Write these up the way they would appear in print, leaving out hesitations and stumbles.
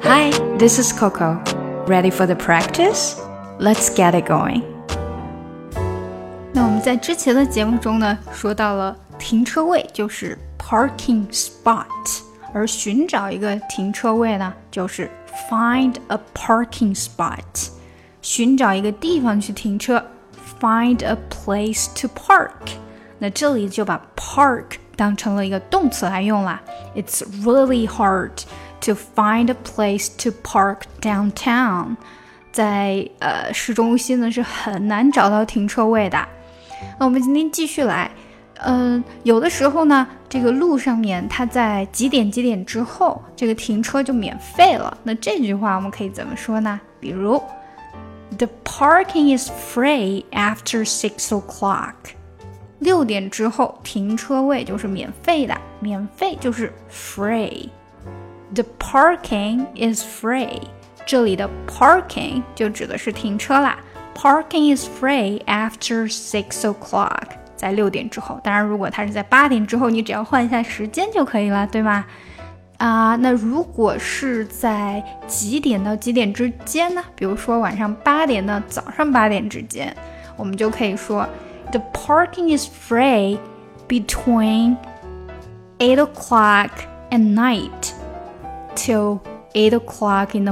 Hi, this is Coco. Ready for the practice? Let's get it going. 那我们在之前的节目中呢，说到了停车位就是 parking spot， 而寻找一个停车位呢，就是 find a parking spot， 寻找一个地方去停车 find a place to park。 那这里就把 park 当成了一个动词来用啦。 It's really hard to find a place to park downtown。 在市中心呢是很难找到停车位的。那我们今天继续来，有的时候呢，这个路上面它在几点之后，这个停车就免费了。那这句话我们可以怎么说呢？比如 The parking is free after 6 o'clock。 6点之后停车位就是免费的，免费就是 free。 The parking is free， 这里的 parking 就指的是停车啦。Parking is free after 6 o'clock， 在6点之后。当然如果它是在8点之后，你只要换一下时间就可以了，对吗？那如果是在几点到几点之间呢？比如说晚上8点到早上8点之间，我们就可以说 The parking is free between 8 o'clock at night till 8 o'clock in the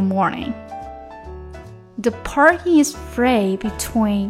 morning。The parking is free between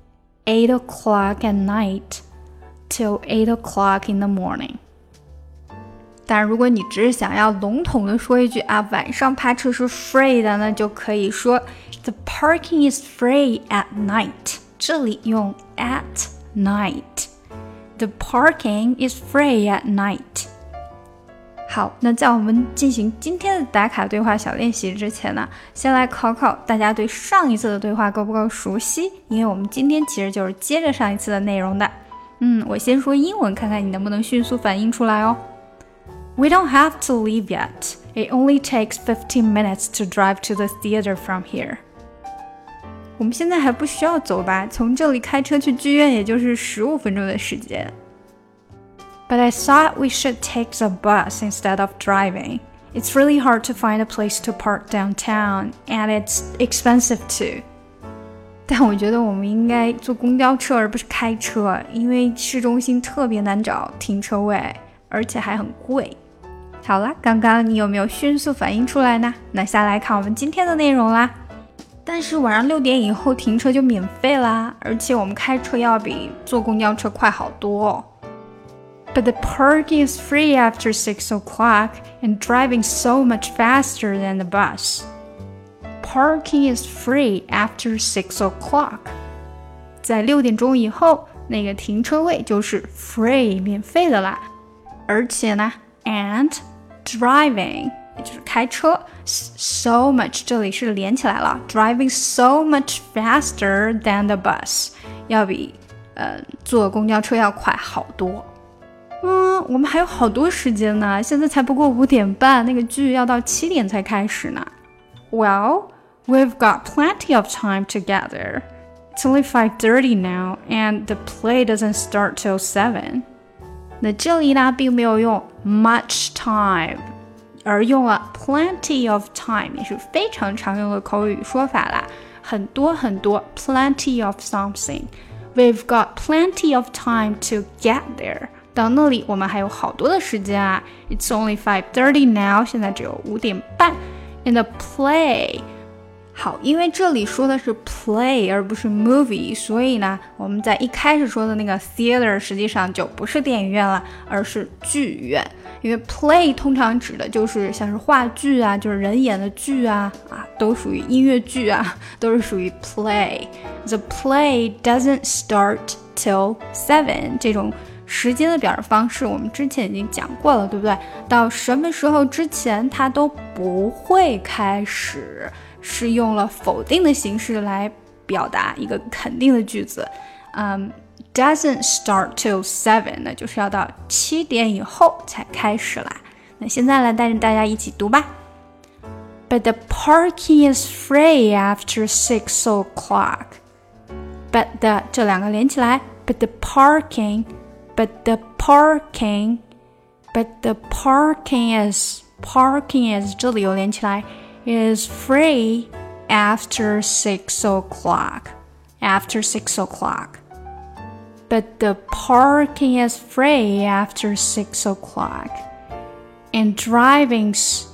8 o'clock at night till 8 o'clock in the morning。 当然如果你只是想要笼统的说一句晚上趴车是 free 的，那就可以说 The parking is free at night， 这里用 at night。 The parking is free at night。好，那在我们进行今天的打卡对话小练习之前呢，先来考考大家对上一次的对话够不够熟悉，因为我们今天其实就是接着上一次的内容的。我先说英文，看看你能不能迅速反应出来哦。We don't have to leave yet. It only takes 15 minutes to drive to the theater from here. 我们现在还不需要走吧？从这里开车去剧院也就是15分钟的时间。But I thought we should take the bus instead of driving. It's really hard to find a place to park downtown, and it's expensive too. 但我觉得我们应该坐公交车而不是开车，因为市中心特别难找停车位，而且还很贵。好啦，刚刚你有没有迅速反应出来呢？那下来看我们今天的内容啦。但是晚上6点以后停车就免费啦，而且我们开车要比坐公交车快好多哦。But the parking is free after 6 o'clock, and driving so much faster than the bus. Parking is free after 6 o'clock. 在6点钟以后，那个停车位就是 free 免费的啦。而且呢 and driving 也就是开车 so much 这里是连起来了 driving so much faster than the bus 要比坐公交车要快好多。我们还有好多时间呢，现在才不过5点半，那个剧要到7点才开始呢。Well, we've got plenty of time to get there. It's only 5:30 now, and the play doesn't start till 7. 那这里呢，并没有用 much time， 而用了 plenty of time， 也是非常常用的口语说法啦。很多很多 plenty of something。We've got plenty of time to get there。到那里我们还有好多的时间啊。It's only 5:30 now， 现在只有5点半。In the play， 好，因为这里说的是 play 而不是 movie， 所以呢，我们在一开始说的那个 theater 实际上就不是电影院了，而是剧院。因为 play 通常指的就是像是话剧啊，就是人演的剧啊，都属于音乐剧啊，都是属于 play。 The play doesn't start till 7， 这种时间的表示方式我们之前已经讲过了，对不对？到什么时候之前它都不会开始，是用了否定的形式来表达一个肯定的句子。Doesn't start till 7， 那就是要到7点以后才开始啦。那现在来带着大家一起读吧。But the parking is free after 6 o'clock. But the 这两个连起来 But the parking But the parking is 这里又连起来 is free after 6 o'clock. After 6 o'clock. But the parking is free after 6 o'clock. And driving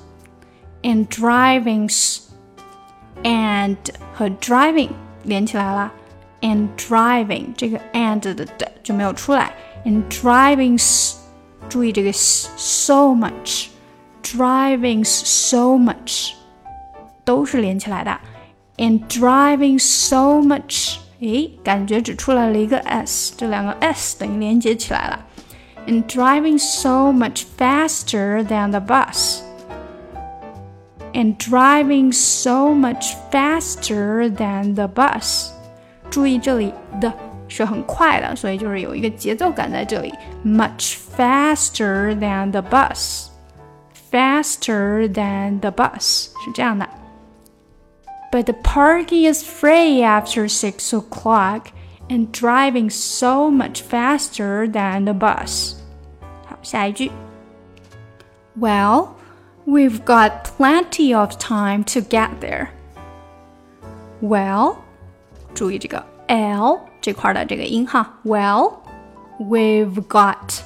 和 driving 连起来了 and driving 这个 and 的就没有出来 and driving 注意这个 so much driving so much 都是连起来的 and driving so much 感觉只出来了一个 s 这两个 s 等于连接起来了 and driving so much faster than the bus and driving so much faster than the bus 注意这里的是很快的，所以就是有一个节奏感在这里 much faster than the bus faster than the bus 是这样的 But the parking is free after 6 o'clock and driving so much faster than the bus 好，下一句 Well, we've got plenty of time to get there. Well, 注意这个 L 这块的这个音哈 Well, we've got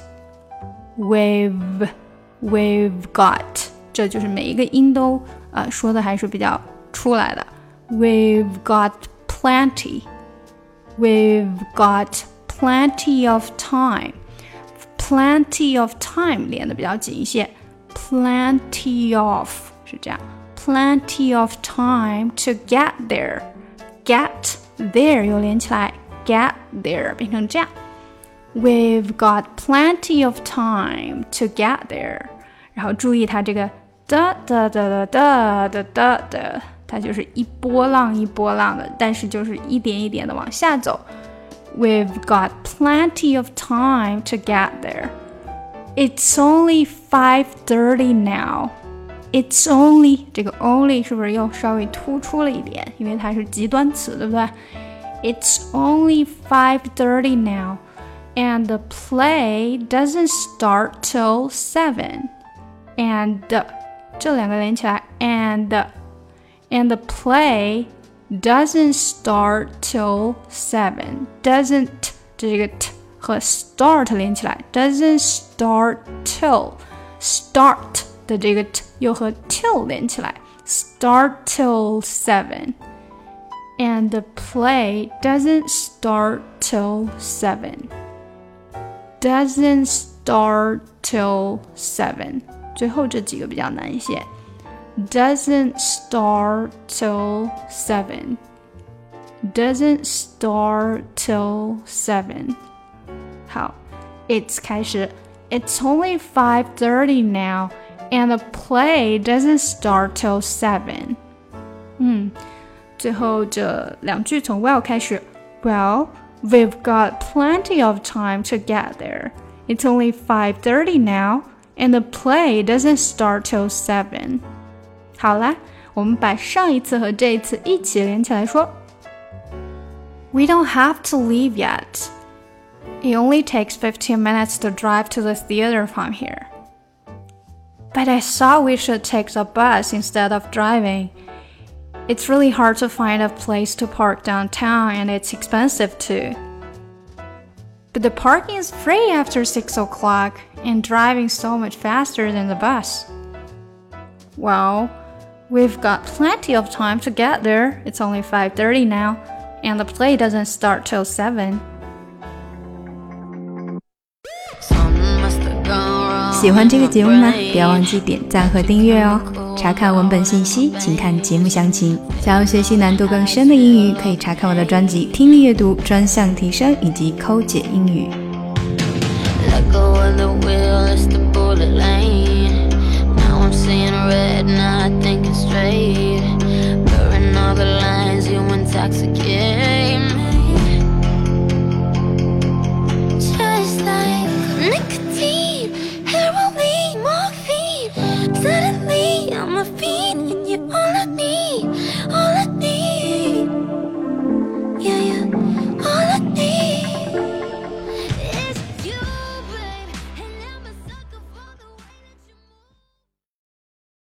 这就是每一个音都说的还是比较出来的 We've got plenty We've got plenty of time Plenty of time 连的比较紧一些Plenty of 是这样 Plenty of time to get there Get there 又连起来 Get there 变成这样 We've got plenty of time to get there 然后注意它这个哒哒哒哒哒哒哒它就是一波浪一波浪的但是就是一点一点的往下走 We've got plenty of time to get there It's only 5:30 now. It's only 这个 only 是不是又稍微突出了一点？因为它是极端词，对不对 ？It's only 5:30 now, and the play doesn't start till 7. And 这两个连起来 and the play doesn't start till 7. Doesn't 这个 t。和 start 连起来 doesn't start till start 的这个 t 又和 till 连起来 start till 7 and the play doesn't start till 7 doesn't start till 7最后这几个比较难一些 doesn't start till 7 doesn't start till 7好 It's 开始 It's only 5:30 now and the play doesn't start till 7. 最后这两句从 well 开始 Well, we've got plenty of time to get there. It's only 5:30 now and the play doesn't start till 7. 好啦，我们把上一次和这一次一起连起来说 We don't have to leave yet. It only takes 15 minutes to drive to the theater from here. But I thought we should take the bus instead of driving. It's really hard to find a place to park downtown and it's expensive too. But the parking is free after 6 o'clock and driving so much faster than the bus. Well, we've got plenty of time to get there. It's only 5:30 now, and the play doesn't start till 7. 喜欢这个节目吗？不要忘记点赞和订阅哦。查看文本信息，请看节目详情。想要学习难度更深的英语，可以查看我的专辑《听力阅读专项提升》以及抠解英语。Let go of the wheel, it's the bullet lane. Now I'm seeing red, now I think it's straight. Blurring all the lines, you intoxicate me. Just like nicotine, heroin, morphine. Suddenly I'm a fiend in your arms.